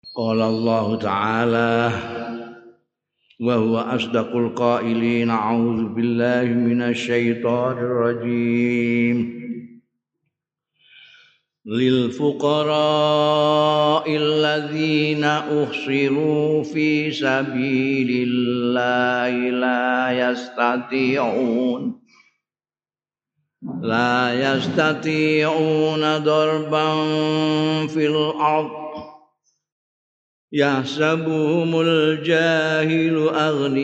Qala Allah Ta'ala wa huwa asdaqul qailin a'udzu billahi minasy syaithanir rajim lil fuqara'il ladzina uhsiru fi sabilillahi la yastati'una darban fil ardh yahsabuhumul jahilu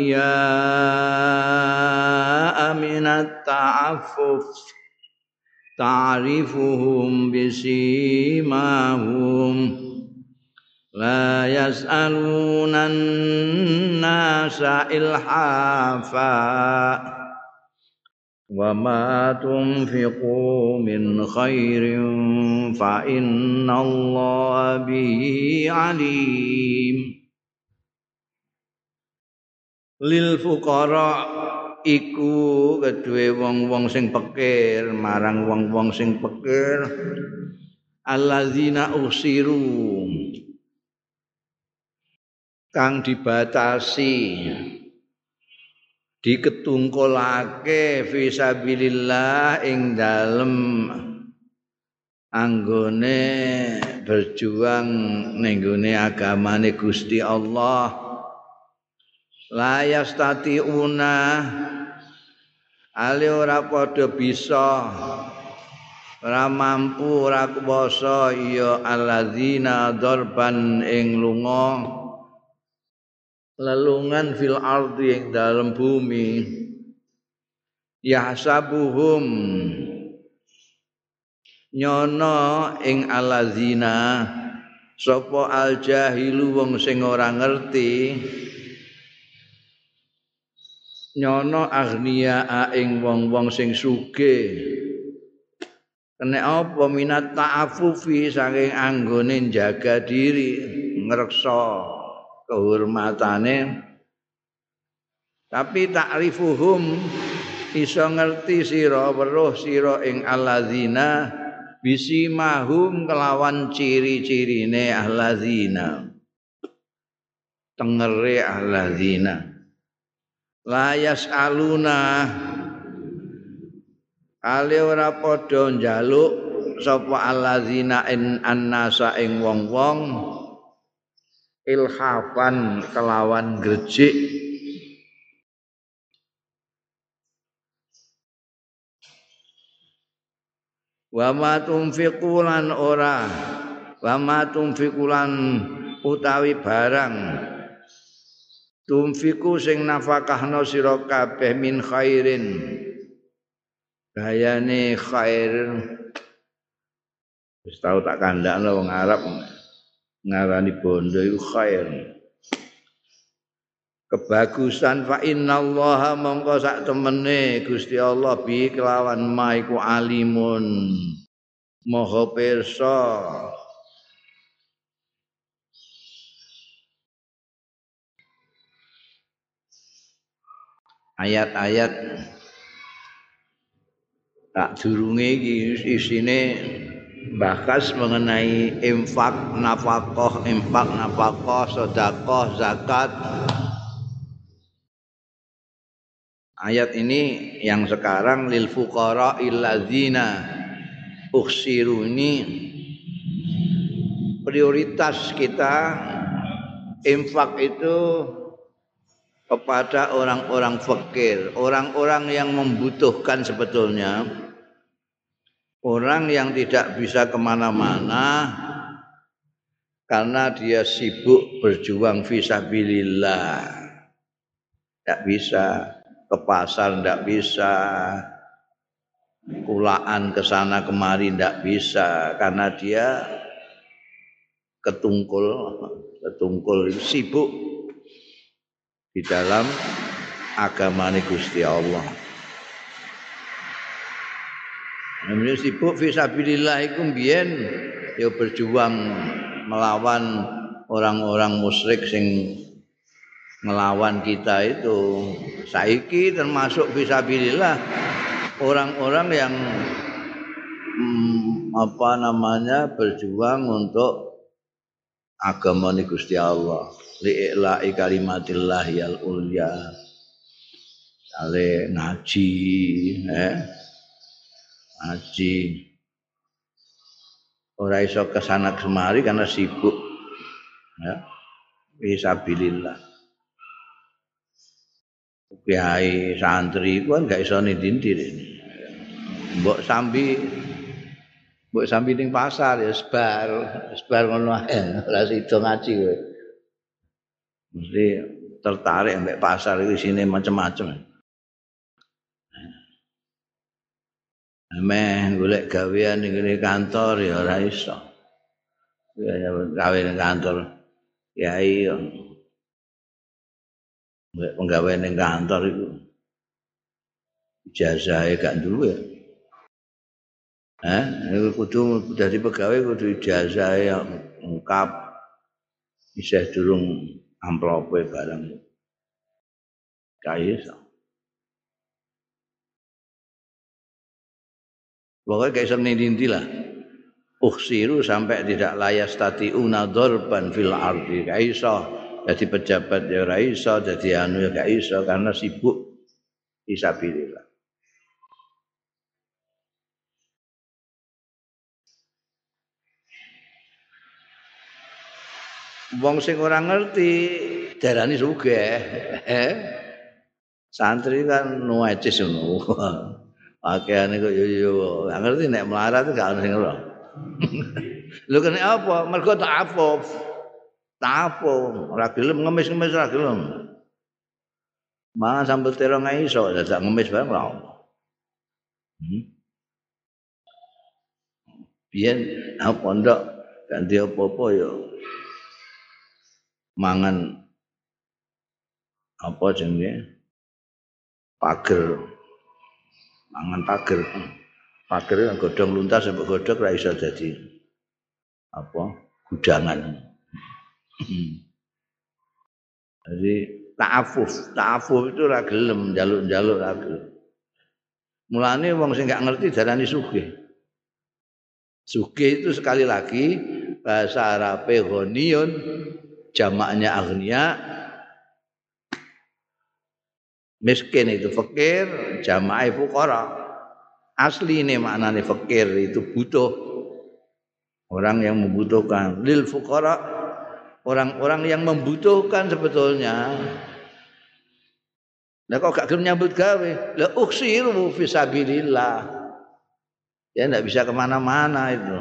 aghniya'a minat ta'affuf ta'rifuhum bisimahum la yas'alunan nasa ilhafa wa ma tunfiqu min khairin fa innallaha bihi alim. Lil fuqara iku kedue wong-wong sing pikir marang wong-wong sing pikir alladzina usiru kang dibatasi diketungkulake fisabilillah ing dalem anggone berjuang ning gone agamane Gusti Allah la yastati'una ale ora padha bisa ora mampu ora kuwasa ya alladzina darban ing lunga lelungan fil ardi ing dalem bumi yahsabuhum nyono ing alladzina sapa al jahilu wong sing ora ngerti nyono aghnia ing wong-wong sing sugih kena apa minat ta'affufi saking anggone jaga diri ngreksa kehormatane tapi ta'rifuhum iso ngerti sira weruh sira ing alladzina bisimahum kelawan ciri-cirine alladzina tengere alladzina la yasaluna ale ora padha njaluk sapa alladzina in annasa ing wong-wong ilhafan kelawan grejik wa ma tunfiqulan ora wa ma tunfiqulan utawi barang tunfiku sing nafakahna sira kabeh min khairin gayane khair wis tau tak kandhakno wong Arab ngarani bondo iku khair kebagusan fa innallaha mongko sak temene Gusti Allah bi kelawan ma iku alimun maha pirsa ayat-ayat tak durunge iki isine bahas mengenai infak, nafkah, sedekah, zakat. Ayat ini yang sekarang lil fuqara illadzina ukhsiru ini prioritas kita infak itu kepada orang-orang fakir, orang-orang yang membutuhkan sebetulnya. Orang yang tidak bisa kemana-mana karena dia sibuk berjuang fisabilillah, tidak bisa ke pasar, tidak bisa kulaan ke sana kemari, tidak bisa karena dia ketungkul sibuk di dalam agamane Gusti Allah. Namanya sibuk fisabilillah iku mbiyen ya berjuang melawan orang-orang musyrik sing ngelawan kita itu. Saiki termasuk fisabilillah orang-orang yang berjuang untuk agamane Gusti Allah li'ila'i kalimatillah yal ulya ale ngaji ngaji ora iso kesana kemari karena sibuk ya fisabilillah kiai santri ku kan gak iso nindi mbok sambi ning pasar ya sebar ngono ae ora sida ngaji kowe mesti tertarik ambek pasar iki isine macam-macam meh golek gawean ning kantor ya ora iso ya gawe ning kantor kiai mbek penggawean ning kantor iku ijazahe gak duwe kudu dadi pegawai kudu ijazah yang lengkap isih durung amplope barang kaya iso pokoknya gak iso nindi lah uksiru sampai tidak layas tati'una dzarban fil ardi gak iso jadi pejabat ya ora iso jadi anu ya gak iso karena sibuk fisabilillah. Wong sing ora ngerti darani sugih. Santri kan nuecis ngono. Pakaiane kok yo gak ngerti nek melarat gak ono sing ora. Lho kene apa? Mergo ta'affuf. Ta'affuf, ora gelem ngemis-ngemis ora gelem. Mangan sambel terong ae iso, dadak ngemis bareng ora ono. Biyen aku pondok ganti apa-apa yo mangan apa jenenge pager mangan pager yang godhong luntas sampai godhog ra iso dadi apa gudangan jadi ta'affuf itu ra gelem njaluk-njaluk ra gelem mulane wong sing gak ngerti darani sugih itu sekali lagi bahasa Arabe ghaniyun jamaknya agniya miskin itu fakir jamaknya fuqara asli ini maknanya fakir itu butuh orang yang membutuhkan lil fuqara orang-orang yang membutuhkan sebetulnya lah kok gak gelem nyambut gawe la uksiru fisabilillah ya ndak bisa kemana-mana itu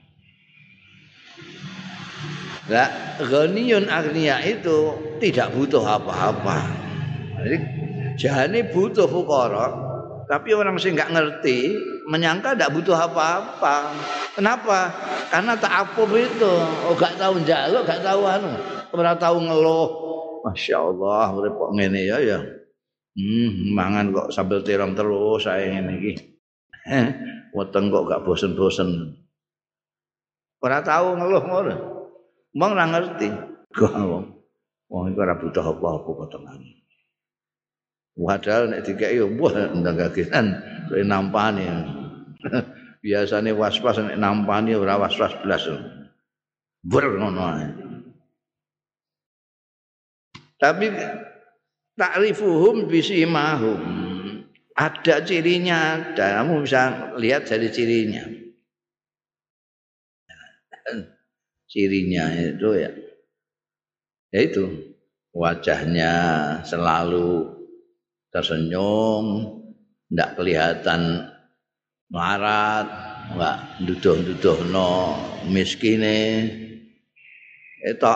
lah ghaniyun agniya itu tidak butuh apa-apa jadi jane butuh fuqara tapi orang sing enggak ngerti menyangka enggak butuh apa-apa kenapa karena ta'affuf itu gak tahu njaluk gak tahu anu ora tahu ngeluh masyaallah urip kok ngene ya mangan kok sambel terong terus saya ngene iki weteng kok gak bosen-bosen ora tahu ngeluh ngono mong ora ngerti kok wong iku ora butuh apa-apa potongan padahal nek dikeki yo wah ndanggakenan kowe nampani biasane was-was nek nampani ora was-was blas ber ngono ae tapi ta'rifuhum bisimahum ada cirinya dan kamu bisa lihat dari cirinya itu ya itu wajahnya selalu tersenyum ndak kelihatan melarat enggak nduduh-nduduhno miskine etok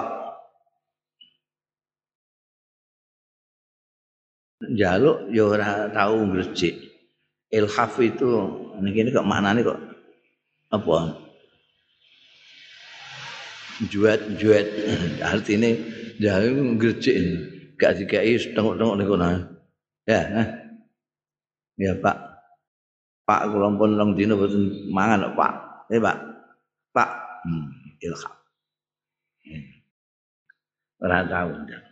njaluk ya ora tau ngresik ilhaf itu niki kok maknane kok apa juet artine njaluk ngresik gak dikai tengok-tengok niku ya ya Pak kula pun long dina boten mangan Pak Pak ilham ora tahu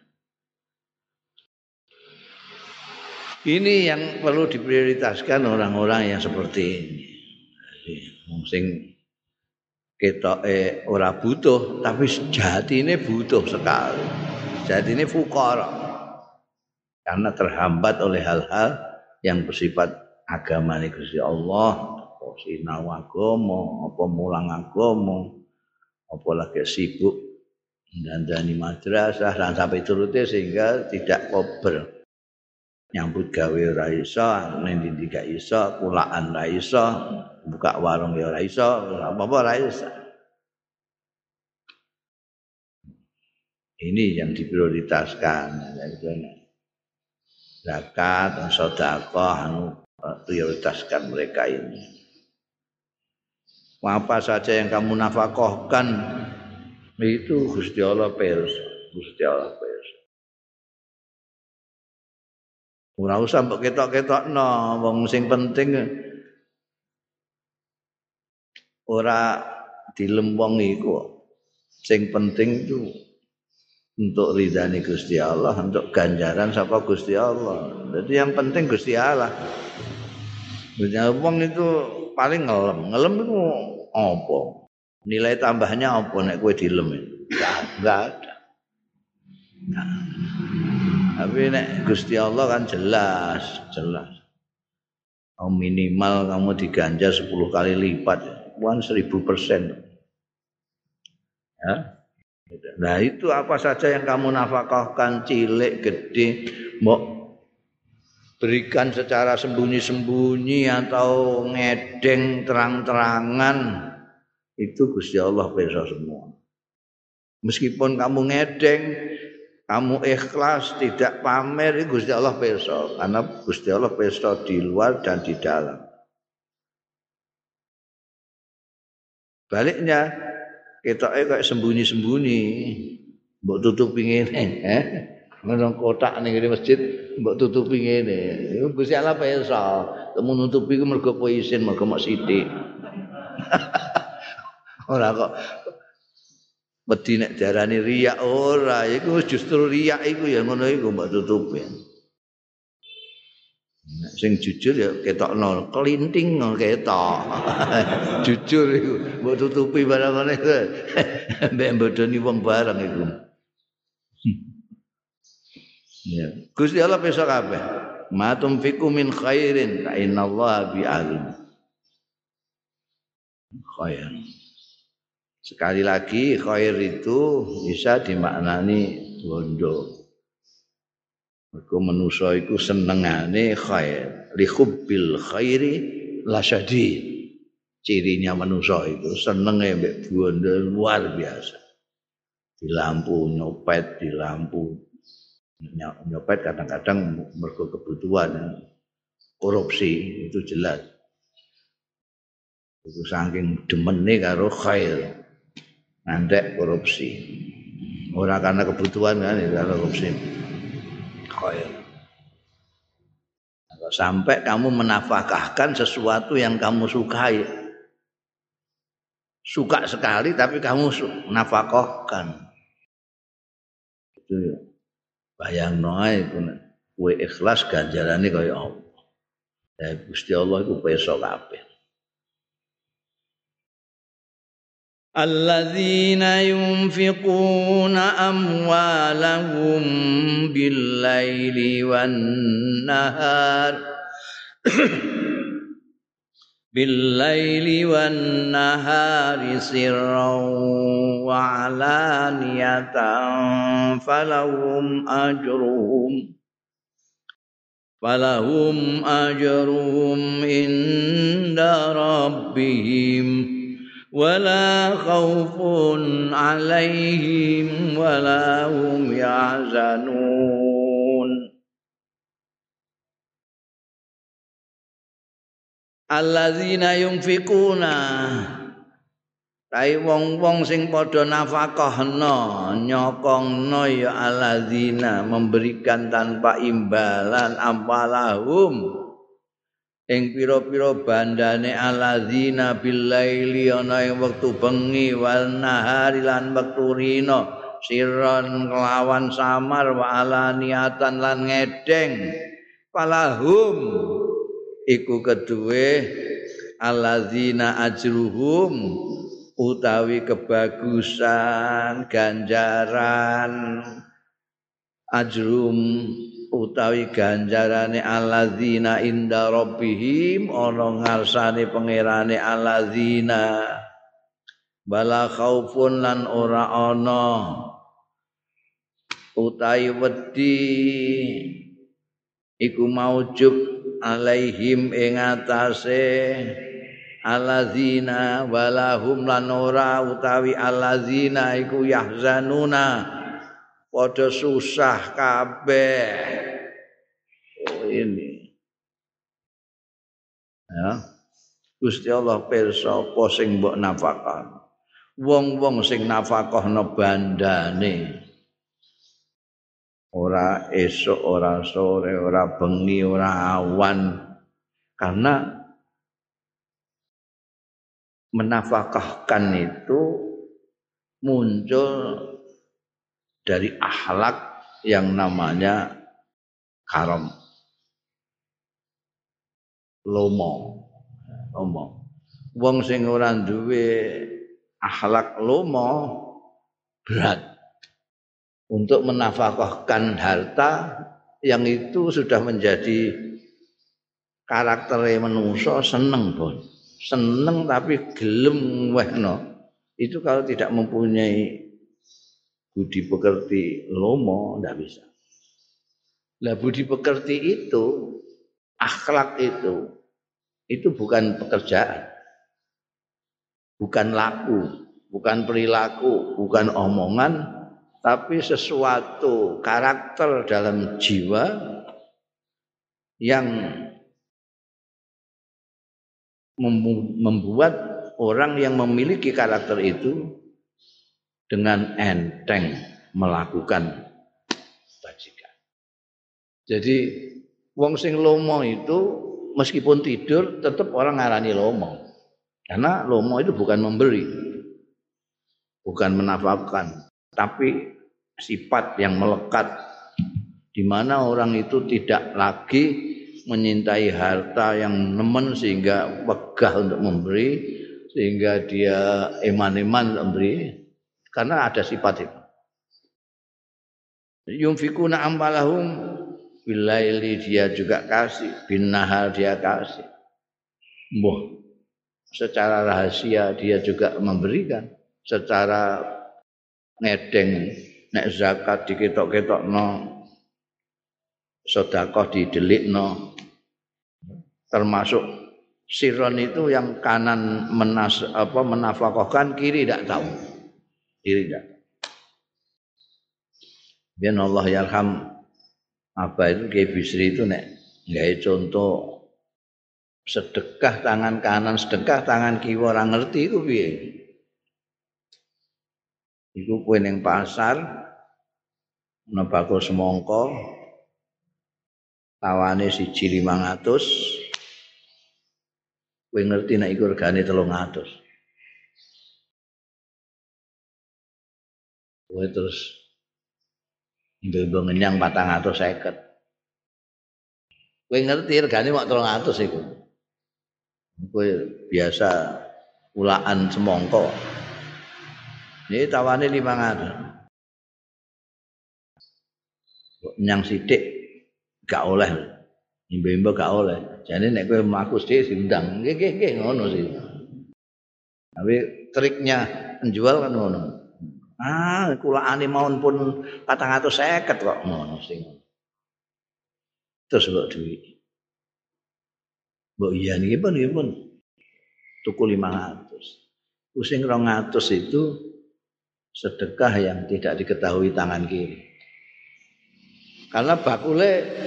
ini yang perlu diprioritaskan orang-orang yang seperti ini. Jadi, sing ketoke ora butuh tapi sejatine butuh sekali. Sejatine fuqara. Karena terhambat oleh hal-hal yang bersifat agama Gusti Allah, apa sinau agama, apa mulang agama, apa lagi sibuk dandani madrasah dan sampai turutnya sehingga tidak kober. Nyambut gawe ora iso, ning ndi gak iso, kulaan ora iso, buka warung ya ora iso, apa-apa ora iso. Ini yang diprioritaskan. Zakat dan sedekah prioritaskan mereka ini. Apa saja yang kamu nafkahkan itu Gusti Allah pirsa, Gusti Allah pirsa. Ora usah mbok ketok-ketokno, wong sing penting ora dilempong iku. Sing penting itu untuk ridhani Gusti Allah, untuk ganjaran sapa Gusti Allah. Jadi yang penting Gusti Allah. Wong itu paling ngelem itu apa? Nilai tambahnya apa nek kowe dilem? Enggak ada. Tapi nek Gusti Allah kan jelas. Minimal kamu diganjar 10 kali lipat, 1000%. Ya. Nah itu apa saja yang kamu nafkahkan, cilik, gede, mau berikan secara sembunyi-sembunyi atau ngedeng terang-terangan, itu Gusti Allah pirsa semua. Meskipun kamu ngedeng, kamu ikhlas, tidak pamer, itu Gusti Allah pirsa. Karena Gusti Allah pirsa di luar dan di dalam. Baliknya, ketoke kok sembunyi-sembunyi, mbok tutupi ngene, nang kotak ning masjid mbok tutupi ngene. Gusti Allah pirsa, temu nutupi ku mergo kowe isin, mergo mok sithik. Ora kok wedi nek diarani riya ora, iku justru riya iku ya ngono iku mbok tutupi. Nek sing jujur ya ketokno kelinting ketok. Jujur iku mbok tutupi barang ngene iku. Mbek bodoni wong barang iku. Ya, Gusti Allah pirsa kabeh. Ma tumfiku min khairin fa innallaha bi'alim. Khair. Sekali lagi khair itu bisa dimaknani bondo. Mergo manusa iku senengane khair. Li hubbil khairi lasyadid. Cirinya manusa itu senenge mbek bondo luar biasa. Di lampu nyopet, di lampu nyopet kadang-kadang mergo kebutuhan, korupsi itu jelas. Itu saking demene karo khair. Nandek korupsi. Ora karena kebutuhan kan, karena korupsi. Khair. Kalau sampai kamu menafkahkan sesuatu yang kamu sukai. Suka sekali tapi kamu nafkahkan. Itu ya. Bayangno ae kowe ikhlas ganjarane kaya apa. Gusti Allah iku pirsa kabeh. Alladzina yunfiquna amwalahum bil-laili wan-nahar bil-laili wan-nahari sirran wa 'alaniyatan falahum ajruhum inda rabbihim wala khaufun 'alaihim wala hum yahzanun. Alladzina yunfiquna tai wong-wong sing padha nafkahna nyokongna ya alladzina memberikan tanpa imbalan ampalahum ing pira-pira bandane alladzina billaili ana ing wektu bengi wal nahari lan wektu rina sirron kelawan samar wa alaniatan lan ngedeng palahum iku keduwe alladzina ajruhum utawi kebagusan ganjaran ajrum utawi ganjarane alladzina inda rabbihim ana ngarsane pangerane alladzina bala khaufun lan ora ana utawi wedi iku maujub alaihim ing atase alladzina walahum lan ora utawi alladzina iku yahzanuna padha susah kabeh. Oh ini. Ya. Gusti Allah pirsa apa sing mbok nafakah. Wong-wong sing nafakahna bandane. Ora esuk, ora sore, ora bengi, ora awan. Karena menafakahkan itu muncul dari akhlak yang namanya karam lomo. Wong sing ora duwe akhlak lomo berat untuk menafkahkan harta yang itu sudah menjadi karakter manusia. Seneng pun seneng tapi gelem wehno itu kalau tidak mempunyai budi pekerti lomo tidak bisa. Lah budi pekerti itu, akhlak itu bukan pekerjaan, bukan laku, bukan perilaku, bukan omongan, tapi sesuatu karakter dalam jiwa yang membuat orang yang memiliki karakter itu dengan enteng melakukan kebajikan. Jadi wong sing lomo itu meskipun tidur tetap orang ngarani lomo. Karena lomo itu bukan memberi, bukan menafkahkan, tapi sifat yang melekat di mana orang itu tidak lagi menyintai harta yang nemen sehingga wegah untuk memberi, sehingga dia eman-eman untuk memberi. Karena ada sifat itu. Yunfikuna ambalahum bilaili dia juga kasih, bin nahar dia kasih. Mbah, secara rahasia dia juga memberikan, secara ngedeng nek zakat diketok-ketokno, sedekah didelikno. Termasuk siron itu yang kanan menafkahkan, kiri tidak tahu. Kiri tidak. Biar Allah yarham apa itu Kiai Bisri itu nek gawe contoh sedekah tangan kanan, sedekah tangan kiri orang ngerti itu piye. Iku kowe ning pasar ana bakul semangka tawane 1.500. Kowe ngerti nek iku regane 300. Kowe terus mbok ngenyang 450. Kowe ngerti regane mok 300 iku. Kowe biasa ulaan semangka. Ini tawane 500. Kok nyang sithik gak oleh. Imbe-imbe gak oleh. Jane nek kowe mlaku sithik diundang. Nggih ngono sih. Tapi triknya penjual kan ngono. Kulaane mawon pun 450 kok ngono sing. Terus mbok duit. Mbok iya niki pun tuku 500. Sing 200 itu sedekah yang tidak diketahui tangan kiri. Karena bakule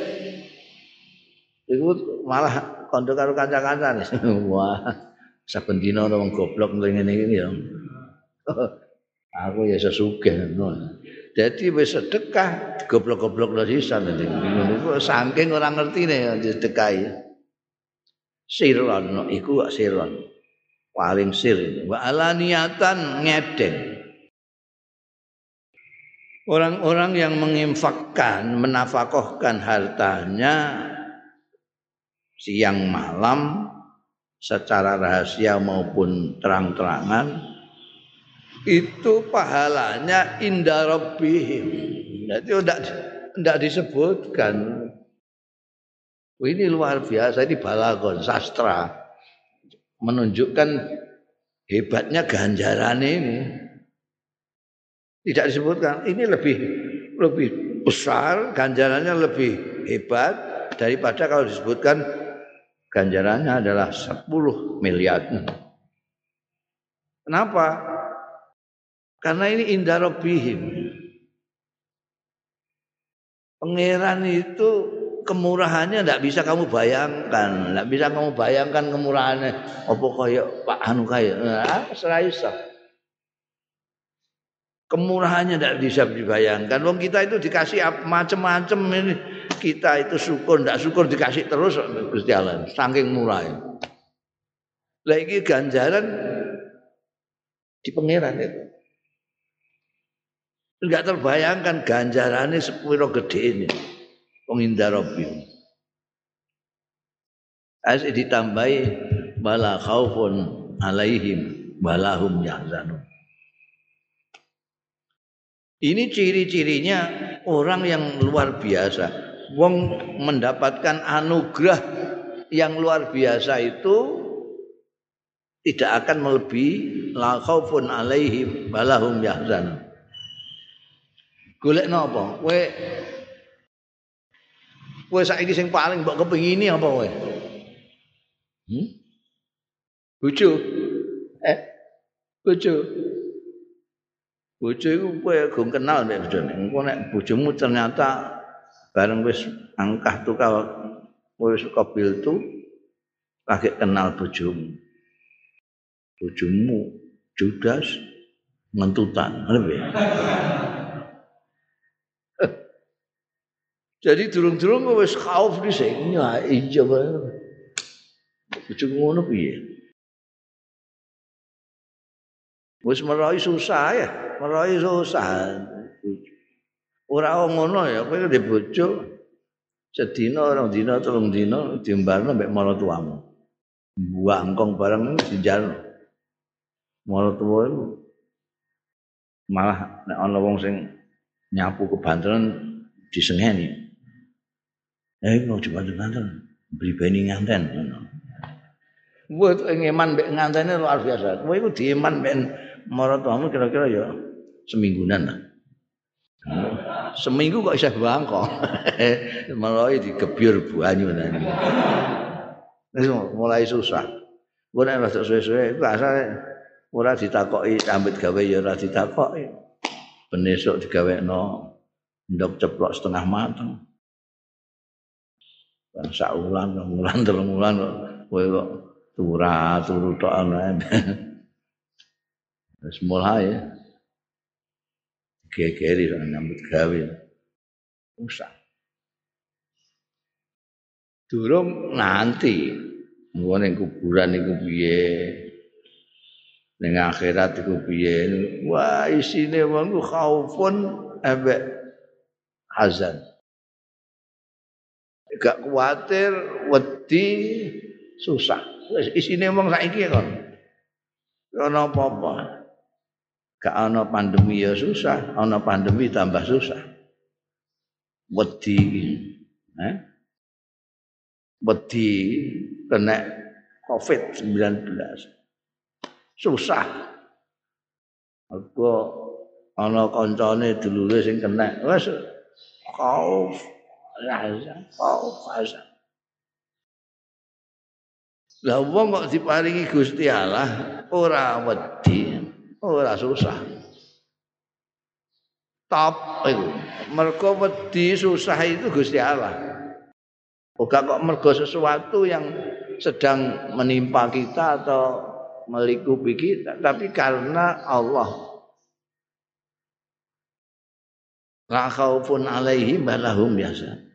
itu malah kondo karo kanca-kancane. Wah, saben dina wong goblok ngene iki ya. Aku ya sesugih ngono. Jadi wis sedekah goblok-goblokno sisan niku saking ora ngertine sedekahi. Sirron iku sirron. Paling sir wa alaniatan ngedeng. Orang-orang yang menginfakkan, menafkahkan hartanya siang malam secara rahasia maupun terang-terangan itu pahalanya inda rabbihim. Jadi tidak disebutkan. Ini luar biasa, ini balaghon sastra menunjukkan hebatnya ganjaran ini. Tidak disebutkan. Ini lebih besar, ganjarannya lebih hebat daripada kalau disebutkan ganjarannya adalah 10 miliar. Kenapa? Karena ini inda rabbihim. Pangeran itu kemurahannya tidak bisa kamu bayangkan, tidak bisa kamu bayangkan kemurahannya. Apa kaya Pak Anu kaya? Seraiso. Kemurahannya tidak bisa dibayangkan. Wong kita itu dikasih macam-macam ini. Kita itu syukur, tidak syukur dikasih terus Gusti Allah. Saking murahnya. Lagi ganjaran di pangeran itu. Enggak terbayangkan ganjarannya sepiro gede ini. Pengindah Rabbi. Asik ditambahi bala khaufun alaihim balahum yahzanun. Ini ciri-cirinya orang yang luar biasa. Wong mendapatkan anugerah yang luar biasa itu tidak akan melebihi la khaufun alaihim balahum yahzanun. Golek napa? Kowe saiki sing paling mbok kepengini apa kowe? Bojo. Bojo. Bojo iku kowe gong kenal nek bojone. Engko nek bojomu ternyata bareng wis angkah tukal kowe suka biltu lagi kenal bojomu. Bojomu judas mentutan, lebih. Jadi durung-durung wis khauf dhisik. Ya iya bae. Bojomu ngono piye? Wis merohi susah ya, merohi susah. Ora ngono ya, kowe ndek bojo sedina, rong dina, telung dina diembarno mbek maratuamu. Buangkong bareng dijalno. Maratuwa iku malah nek ana wong sing nyapu kebanteran disengeni. Ngono banter-banter bribeni nganten ngono. Kowe ngeman mbek ngantene luar biasa. Kowe iku dieman mbek maratuamu kira-kira ya seminggunan lah. Seminggu kok isih bangkok. Mulai digebyur banyu nang. Wis mulai susah. Kowe nek rada suwe-suwe iku asale ora ditakoki ambet gawe ya ora ditakoki. Ben esuk digawekno ndok ceplok setengah mateng. Sak wulan, wulan telung wulan kowe kok turu tok ana. Wis mulai gegeri sak nyambut gawe. Usah. Durung nanti ngono ning kuburan iku piye? Ning akhirat iku piye? Wah, isine wong ku khaufun ambek hazan. Gak kuwatir, wedi, susah. Wis isine wong saiki kon. Ana apa-apa. Gak ana pandemi ya susah, ana pandemi tambah susah. Wedi wedi kena COVID-19. Susah. Aku ana kancane dulure sing kena. Wis khauf azan. Lah wong kok diparingi Gusti Allah ora wedi, ora susah. Top iku. Mergo wedi susah itu Gusti Allah. Bukan kok mergo sesuatu yang sedang menimpa kita atau melingkupi kita, tapi karena Allah. La khaufun alaihim balahum yahzan.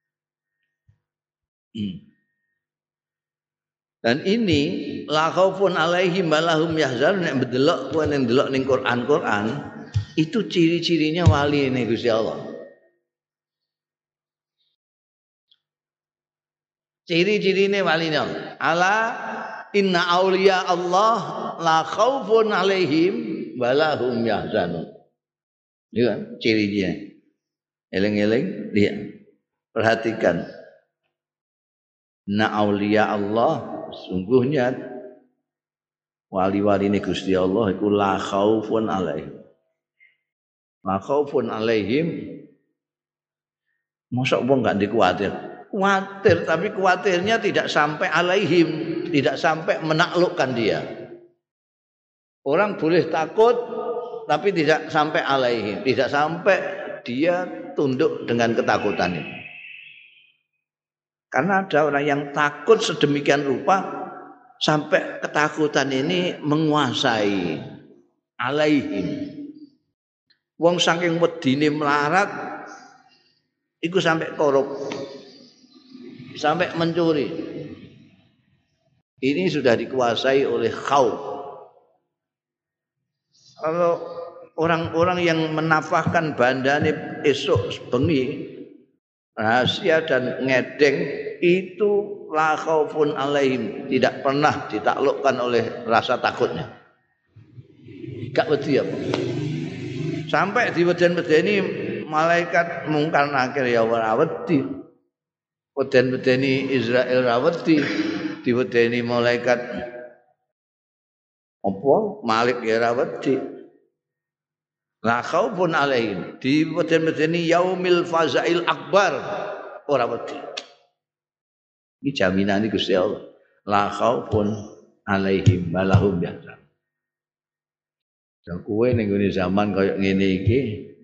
Dan ini la khaufun alaihim balahum yahzan nek ndelok kowe nek ndelok ning Quran itu ciri-cirinya wali ini Gusti Allah. Ciri-cirine wali Allah. Ala inna auliya Allah la khaufun alaihim walahum yahzanun. Ini kan cirinya. Eling-eling lihat. Perhatikan. Na auliya Allah sungguhnya wali-wali ini Gusti Allah iku la khaufun alaihim. La khaufun alaihim. Mosok wong gak dikuatir. Kuatir tapi kuatirnya tidak sampai alaihim, tidak sampai menaklukkan dia. Orang boleh takut tapi tidak sampai alaihim, tidak sampai dia tunduk dengan ketakutan itu. Karena ada orang yang takut sedemikian rupa sampai ketakutan ini menguasai alaihim. Wong saking wedine melarat iku sampai korup, sampai mencuri. Ini sudah dikuasai oleh khauf. Kalau orang-orang yang menafahkan bandane esok bengi rahasia dan ngedeng itu la khaufun alaihim, tidak pernah ditaklukkan oleh rasa takutnya. Gak wedi apa. Sampai diweden-wedeni malaikat mungkar nakir ya ora wedi. Weden-wedeni Israel ra wedi, diwedeni malaikat apa Malik ya ora wedi. La khaufun alaihim, diweden-wedeni yaumil fazail akbar ora wedi. Ini jaminan Gusti Allah. La khaufun alaihim walahum yahzanun. Kowe ning ngene zaman kaya ngene iki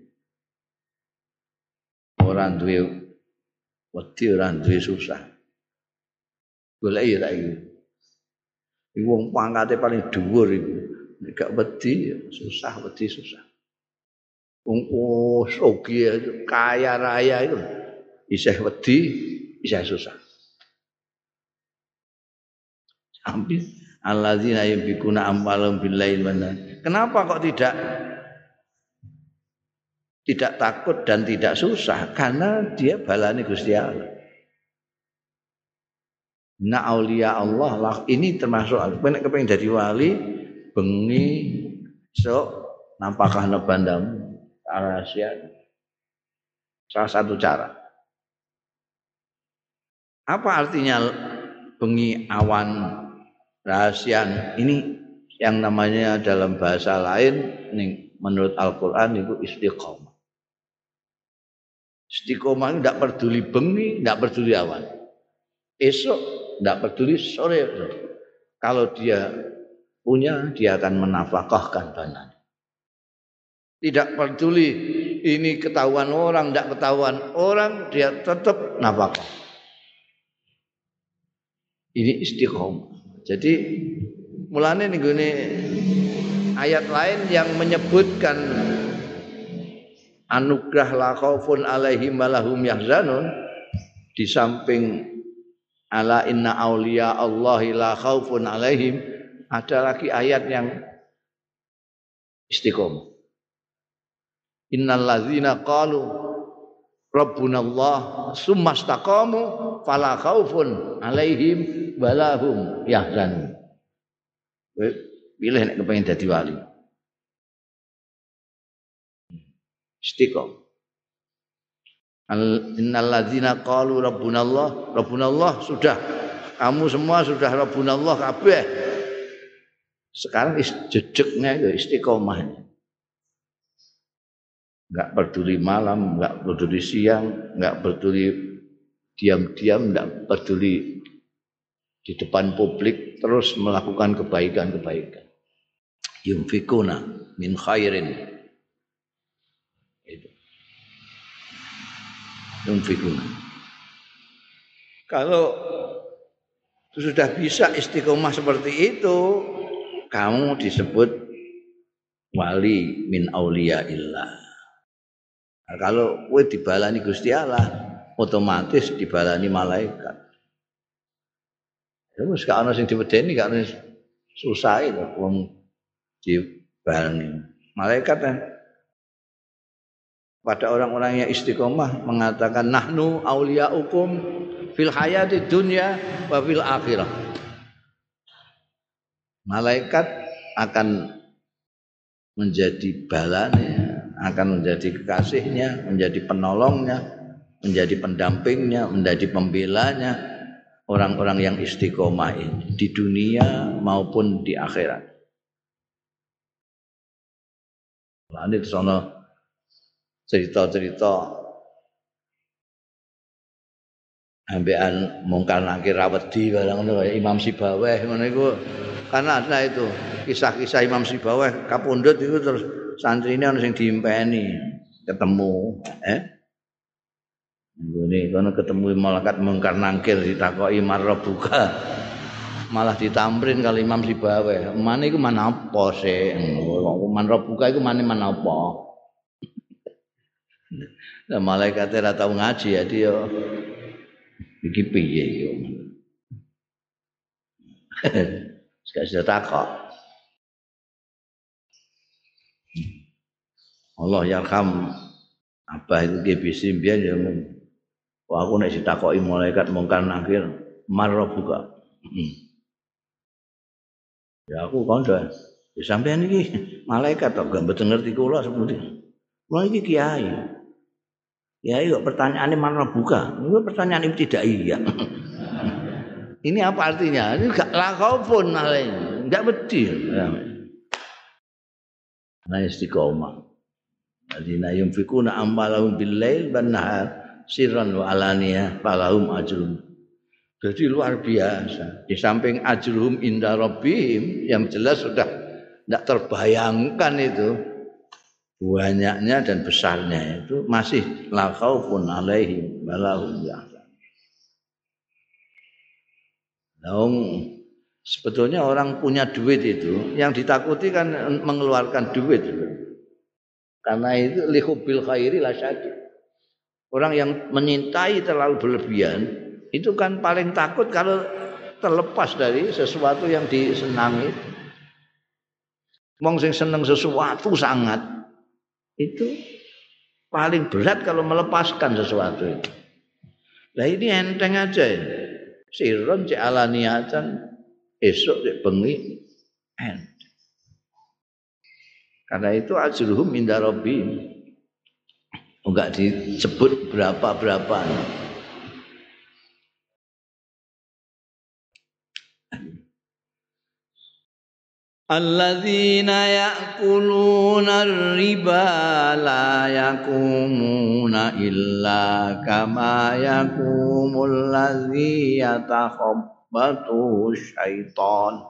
ora duwe wedi, ora duwe susah. Goleki ta iki. Iku wong pangkate paling dhuwur iku. Nek gak wedi susah, wedi susah. Wong sugih kaya raya itu isih wedi, isih susah. Hampir alladzina yunfikuna amwalahum bil-lail wan-nahar. Kenapa kok tidak takut dan tidak susah? Karena dia balane Gusti Allah. Na auliya Allah lah ini termasuk nek kepengin dadi wali bengi sok nampakane bandamu rahasia. Salah satu cara. Apa artinya bengi awan rahasia ini yang namanya dalam bahasa lain menurut Al-Qur'an itu istiqomah. Istiqomah itu tidak peduli bengi, tidak peduli awan. Esok tidak peduli sore. Kalau dia punya, dia akan menafkahkan banyak. Tidak peduli ini ketahuan orang, tidak ketahuan orang, dia tetap nafkah. Ini istiqomah. Jadi mulane ning gone ayat lain yang menyebutkan anugerah la khaufun alaihim walahum yahzanun di samping ala inna auliya Allahi la khaufun alaihim ada lagi ayat yang istiqomah. Innal ladzina qalu rabbunallah summa istaqamu fala khaufun alaihim walahum yahzanun. Pilih nek kepengin dadi wali. Istiqomah. Innal ladzina qalu rabbunallah sudah. Kamu semua sudah rabbunallah kabeh. Sekarang jejeknya itu istiqomahnya. Enggak peduli malam, enggak peduli siang, enggak peduli diam-diam, enggak peduli di depan publik, terus melakukan kebaikan-kebaikan. Yunfikuna min khairin. Itu. Yunfikuna. Kalau sudah bisa istiqomah seperti itu, kamu disebut wali min auliyaillah. Nah, kalau kowe dibalani Gusti Allah, otomatis dibalani malaikat. Ya wis gak ana sing diwedeni, gak ana susah itu wong dibalani. Malaikat kan pada orang-orang yang istiqomah mengatakan nahnu auliyaukum fil hayati dunya wa fil akhirah. Malaikat akan menjadi balanya, akan menjadi kekasihnya, menjadi penolongnya, menjadi pendampingnya, menjadi pembelanya orang-orang yang istiqomah ini di dunia maupun di akhirat. Lanjut sono cerita-cerita ambekan mungkar nakir rawedi barang ngono kaya Imam Sibaweh ngono iku. Karena ada itu kisah-kisah Imam Sibaweh kapundhut itu terus santrine ana sing diimpeni ketemu Ini kono ketemu malaikat mungkar nakir ditakoki marrabuka. Malah ditamrin kali Imam Sibaweh. Mane iku manapa sih? Marrabuka iku mane manapa? Lah malaikate ora tau ngaji ya dia iki piye yo. Gak bisa takok. Allah yarham apa itu GBC mbiyen ya. Wah aku nek ditakoki malaikat mungkar nakir marrabuka. Ya aku kandha. Ya sampean iki malaikat kok gak mboten ngerti kula sepundi. Kula iki kiai. Kiai kok pertanyaane marrabuka. Itu pertanyaan ibtidaiyah. Ini apa artinya? Ini gak lakofun malah enggak wedi. Nah istiqomah. Alladzina yunfikuna amwalahum bil-lail wan-nahar sirran wa alaniyah falahum ajrun. Jadi luar biasa. Di samping ajruhum inda rabbihim yang jelas sudah tidak terbayangkan itu banyaknya dan besarnya itu masih la khaufun alaihim wa lahum yahzanun. Sebetulnya orang punya duit itu yang ditakuti kan mengeluarkan duit. Karena itu lihubil khairi la syadid. Orang yang menyintai terlalu berlebihan itu kan paling takut kalau terlepas dari sesuatu yang disenangi. Wong sing seneng sesuatu sangat itu paling berat kalau melepaskan sesuatu itu. Lah ini enteng aja ya. Sirron cek alaniatan esok cek bengi enteng. Karena itu ajruhum inda rabbihim. Enggak disebut berapa-berapa. Alladzina ya'kuluna ar-riba la yaqumuna illa kama yaqumul ladzi yatakhabbatu syaitan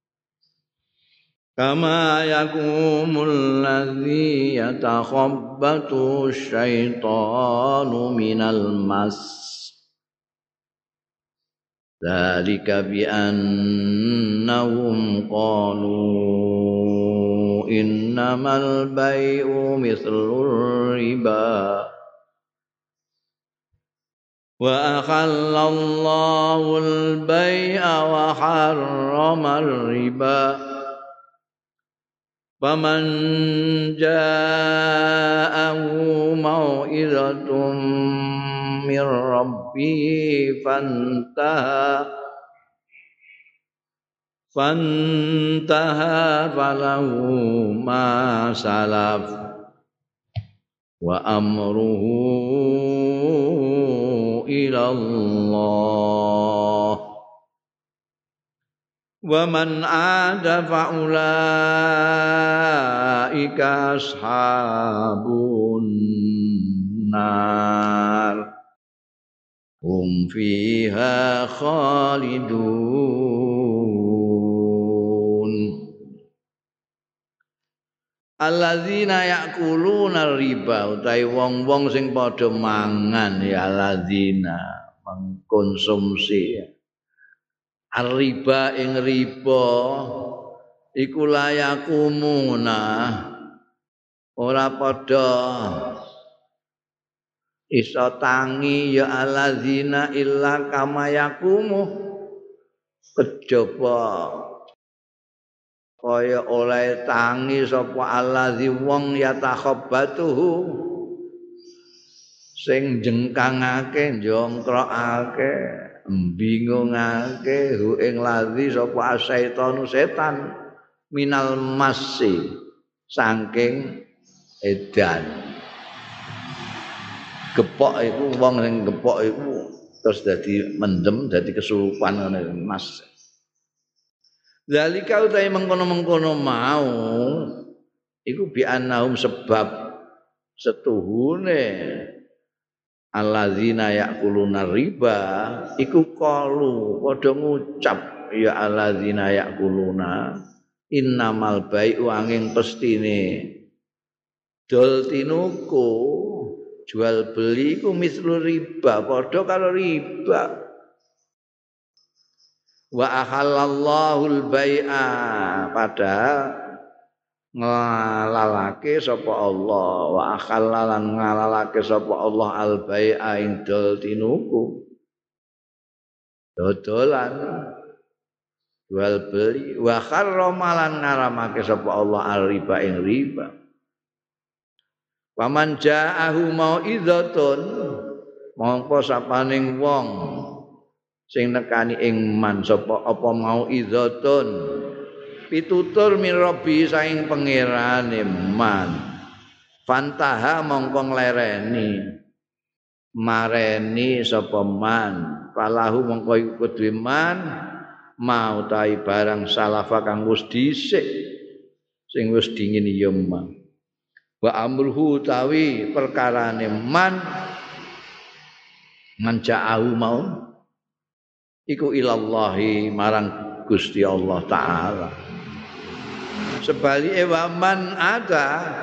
kama yaqumul ladzi yatakhabbatu syaitanu minal mas. Dzalika bi annahum qalu innamal bai'u mithlur riba wa akhallallahu al-bai'a wa harrama ar-riba faman ja'ahu mau'izatun min rabbihi fantaha falahu ma salaf wa amruhu ila Allah wa man aada fa'ulaika ashabun nar hum fiha khalidun. Alladzina ya'kuluna riba utawi wong-wong sing padha mangan ya alladzina mengkonsumsi riba ing riba iku layakumuna ora padha iso tangi ya alladzina illa kama yakumu kejaba kaya oleh tangi sapa alladzi wong yatakhabbatuhu sing jengkangake njongkrokake bingungake hu ing ladzi sapa setan minal masi saking edan. Gepok iku wong sing gepok iku terus dadi mendem, dadi kesurupan ngene Mas. Zalika utahe mengkono-mengkono mau iku bi annahum sebab setuhune alladzina yaquluna riba iku qalu padha ngucap ya alladzina yaquluna innamal bai'u angin pestine dol tinuku jual beli iku mislu riba padha karo riba wa ahallallahu al-bai'a padahal ngalalake sapa Allah wa akhallalan ngalalake sapa Allah al-bai'a indol tinuku dodolan jual beli wa kharramalan ngaramake sapa Allah al-riba ing riba paman ja'ahu mau'izatun mongko sapaning wong sing nekani ing man sapa apa mau'izatun pitutur min rabbi saing pangerane man fantaha mongko nglereni mareni sapa man falahu mongko iku kudu man mau tai barang salafa kang wis dhisik sing wis dingin ya man wa amruhu tawi perkarane man ja'ahu mau iku ilallahi marang Gusti Allah taala sebalike waman ada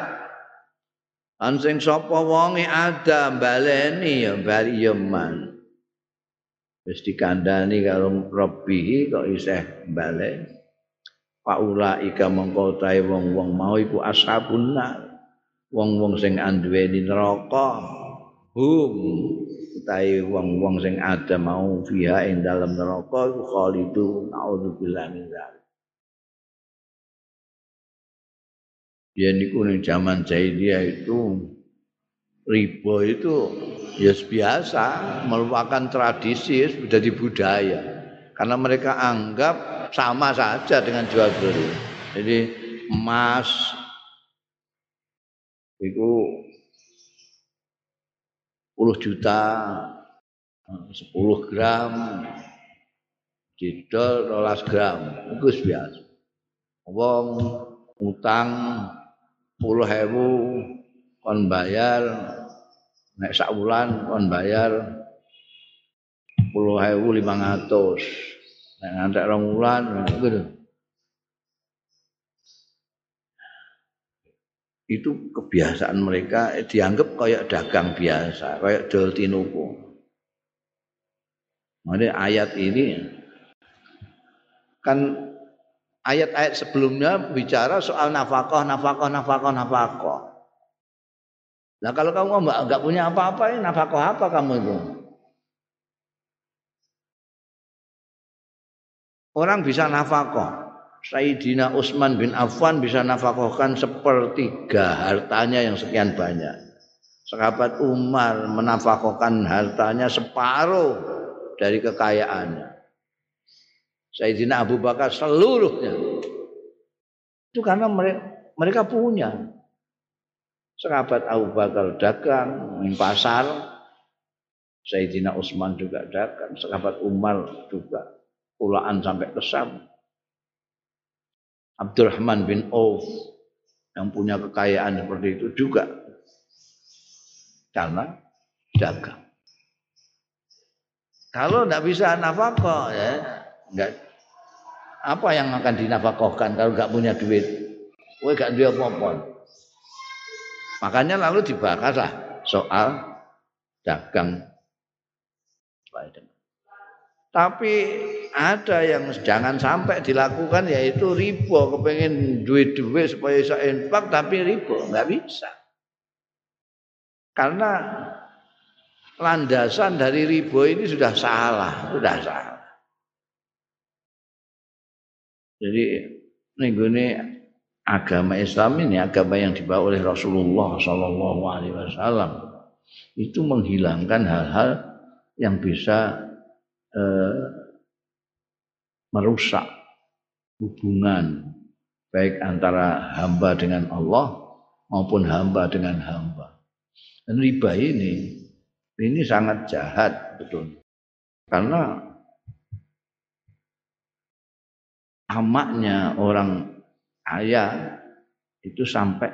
sing sapa wonge ada baleni ya bali ya man wis dikandhani karo Rabbi kok isih baleni paula ika mongko tae wong-wong mau iku ashabun nar wong-wong sing anduweni neraka utahe wong-wong sing ada mau fiha ing dalem neraka iku khalidu naudzubillah min dzalik. Ya niku ning zaman jahiliyah itu riba itu ya biasa merupakan tradisi menjadi budaya karena mereka anggap sama saja dengan jual beli. Jadi emas itu 10 juta 10 gram didol 12 gram itu biasa wong utang 10.000 kon bayar nek sak wulan kon bayar 10.500 nek ngantek 2 wulan gitu. Itu kebiasaan mereka dianggap kayak dagang biasa, kayak dol tinuku. Makanya ayat ini kan ayat-ayat sebelumnya bicara soal nafkah. Nah kalau kamu enggak punya apa-apa, nafkah apa kamu itu? Orang bisa nafkah. Sayyidina Utsman bin Affan bisa nafkahkan 1/3 hartanya yang sekian banyak. Sahabat Umar menafkahkan hartanya separuh dari kekayaannya. Sayyidina Abu Bakar seluruhnya. Itu karena mereka punya. Sahabat Abu Bakar dagang di pasar. Sayyidina Utsman juga dagang. Sahabat Umar juga pulaan sampai ke Syam. Abdurrahman bin Auf yang punya kekayaan seperti itu juga karena dagang. Kalau tidak bisa nafkah ya enggak apa yang akan dinafkahkan kalau enggak punya duit. Kowe enggak duwe apa-apa. Makanya lalu dibahaslah soal dagang. Tapi ada yang jangan sampai dilakukan yaitu riba, kepengen duit-duit supaya bisa infak tapi riba, enggak bisa. Karena landasan dari riba ini sudah salah. Jadi ini agama Islam ini agama yang dibawa oleh Rasulullah Shallallahu Alaihi Wasallam itu menghilangkan hal-hal yang bisa merusak hubungan baik antara hamba dengan Allah maupun hamba dengan hamba. Dan riba ini sangat jahat betul. Karena amaknya orang kaya itu sampai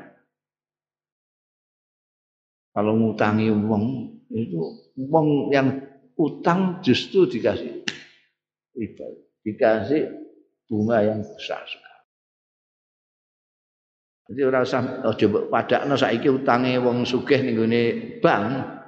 kalau ngutangi wong itu wong yang utang justru dikasih riba, dikasih bunga yang besar sekali. Jadi ora usah coba padakno saiki utange wong sugih ning gone bank.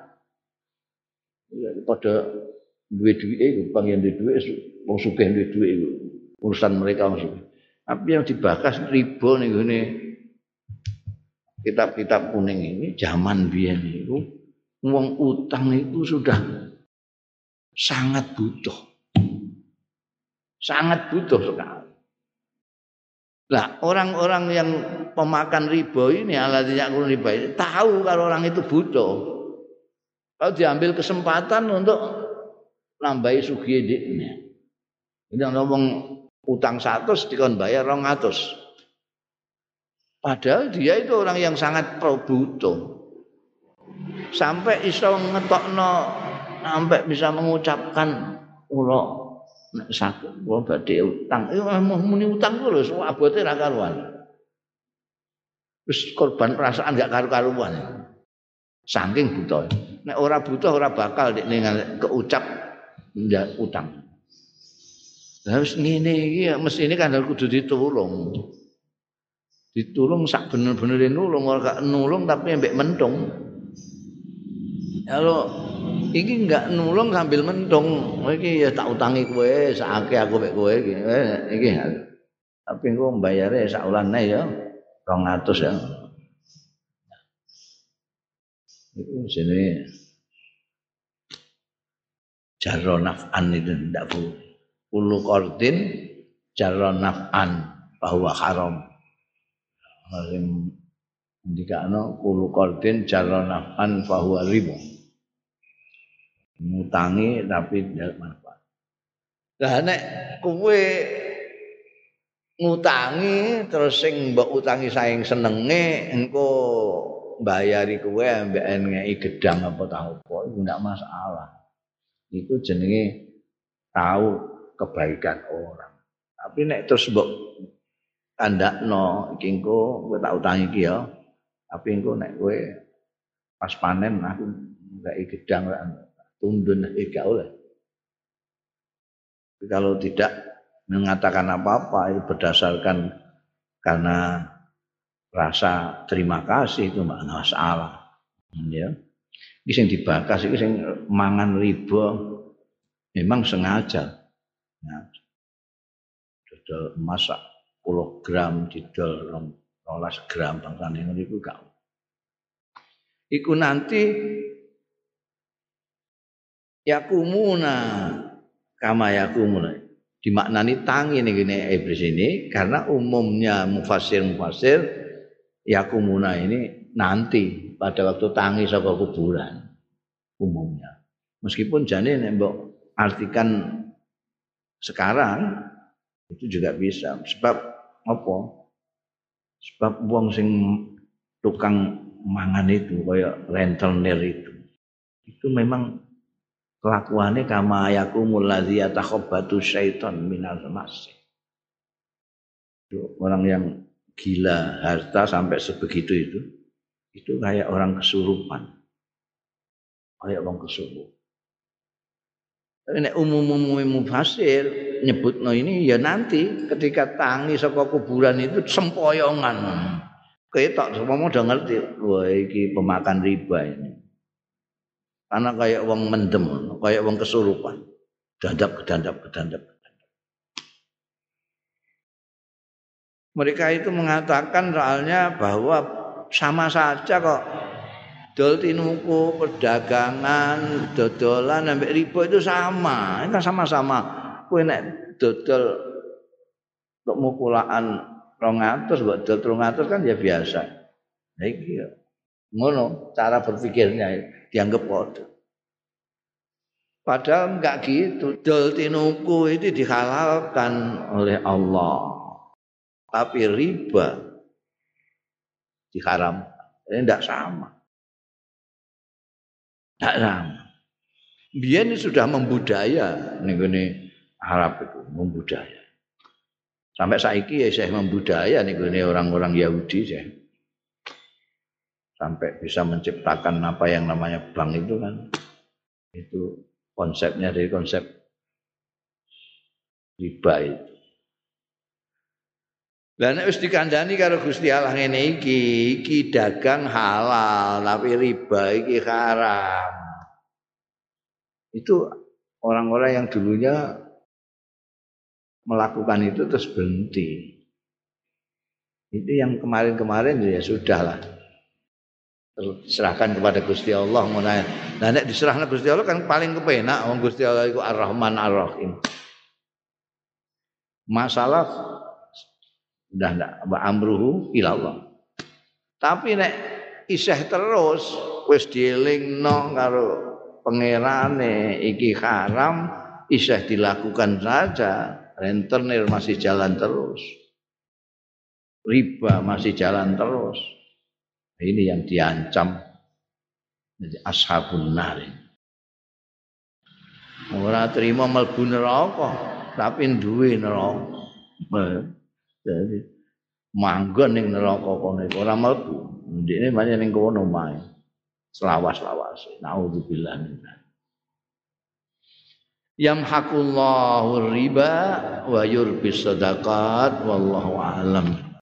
Ya padha duwe duwike bank yang duwe duwik wong sugih duwe duwik iku urusan mereka wong sugih. Tapi yang dibahas riba ning gone kitab-kitab kuning ini zaman biyen itu wong utang itu sudah sangat butuh sekali. Nah, orang-orang yang pemakan riba ini alladzina yakulun riba ini tahu kalau orang itu butuh. Kalau diambil kesempatan untuk nambahi sugih dhekne. Ini ngomong utang 100 dikon bayar 200. Padahal dia itu orang yang sangat butuh. Sampai iso ngetokno sampai bisa mengucapkan kula nek saged kula badhe utang. Muni utang ku lho abote ra karuan. Wis korban perasaan gak karu-karuan. Saking butuh. Nek ora butuh ora bakal nek keucap ndak utang. Lah wis ngene iki mestine kan kudu ditulung. Ditulung sak bener-benere nulung ora gak nulung tapi mbek mentung. Kalau iki enggak nulung sambil mentung, iki ya tak utangi kowe sakake aku mbek kowe iki. Iki. Tapi engko mbayare sak ulane ya 200 ya. Itu jenenge jarra naf'an itu ndak bu. Ulu qardin jarra naf'an bahwa haram. Sing ndikakno ulu qardin jarra naf'an bahwa riba. Ngutangi tapi ndak manfaat. Lah nek kowe ngutangi terus sing mbok utangi saking senenge engko mbayari kowe ambek ngeki gedang apa ta apa iku ndak masalah. Itu jenenge tahu kebaikan orang. Tapi nek terus mbok kandakno iki engko kowe tak utangi iki ya. Tapi engko nek kowe pas panen aku ngeki gedang tundun gak oleh. Kalau tidak mengatakan apa-apa itu berdasarkan karena rasa terima kasih itu enggak masalah. Ya. Iki sing dibakas iki sing mangan riba memang sengaja. Nah, dodol emas 10 gram didol 12 gram bangsane ngono iku gak. Iku nanti yakumuna kama yakumuna dimaknani tangi nih gini iblis ini karena umumnya mufasir yakumuna ini nanti pada waktu tangi saka kuburan umumnya meskipun jane nek mbok artikan sekarang itu juga bisa sebab apa sebab wong sing tukang mangan itu kaya rentenir itu memang kelakuannya kama yakumul ladzi yatakhabbatu syaiton minal mas. Orang yang gila harta sampai sebegitu itu kayak orang kesurupan. Kayak orang kesurupan. Tapi nek umum mufasir nyebutno ini ya nanti ketika tangi saka kuburan itu sempoyongan. Ketok semua udah ngerti, wah iki pemakan riba ini. Karena kayak wong mendem, kayak wong kesurupan. Gedandap. Mereka itu mengatakan soalnya bahwa sama saja kok dol tinuku, perdagangan, dodolan sampai riba itu sama. Itu kan sama-sama. Kowe nek dodol untuk mukulaan 200 mbok dodol 300 kan ya biasa. Nah iki ngono cara berpikirnya dianggap kode. Padahal enggak gitu. Dol tinuku itu dihalalkan oleh Allah. tapi riba diharam. Ini tidak sama. Tidak sama. Biyen sudah membudaya ning Arab itu, membudaya. Sampai saiki ya saya membudaya ning orang-orang Yahudi saya. Sampai bisa menciptakan apa yang namanya bank itu kan. Itu konsepnya dari konsep riba itu. Lah nek wis dikandani karo Gusti Allah ngene iki dagang halal tapi riba iki haram. Itu orang-orang yang dulunya melakukan itu terus berhenti. Itu yang kemarin-kemarin ya sudahlah. Serahkan kepada Gusti Allah ngono. Lah nek diserahkan Gusti Allah kan paling kepenak wong Gusti Allah iku Ar-Rahman Ar-Rahim. Masalah udah ndak amruhu ilallah. Tapi nek isih terus wis dielingno karo pangerane iki haram isih dilakukan saja, rentenir masih jalan terus. Riba masih jalan terus. Ini yang diancam jadi ashabun nar. Ora terima mlebu neraka, tapi duwe neraka. Jadi manggon ning neraka kono ora mlebu. Ndekne banyak ning kono mae. Selawas-lawas. Nauzubillah min dzalik. Yamhaqullahu riba wa yurbis sadaqat wallahu a'lam.